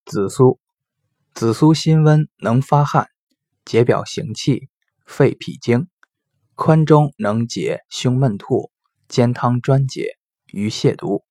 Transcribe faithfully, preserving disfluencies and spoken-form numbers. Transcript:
紫苏，紫苏辛温，能发汗，解表行气，肺脾经，宽中能解胸闷吐，煎汤专解，鱼泻毒。